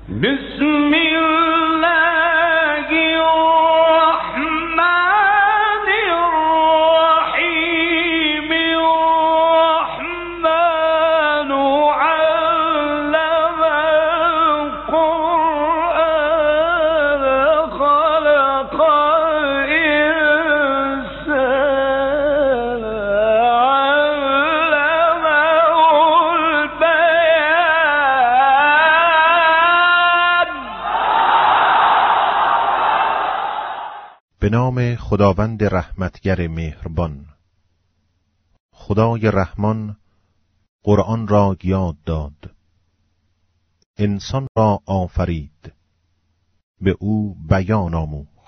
بسم الله الرحمن الرحيم الرحمن علم القرآن خلق الإنسان به نام خداوند رحمتگر مهربان. خدای رحمان قرآن را یاد داد، انسان را آفرید، به او بیان آموخت.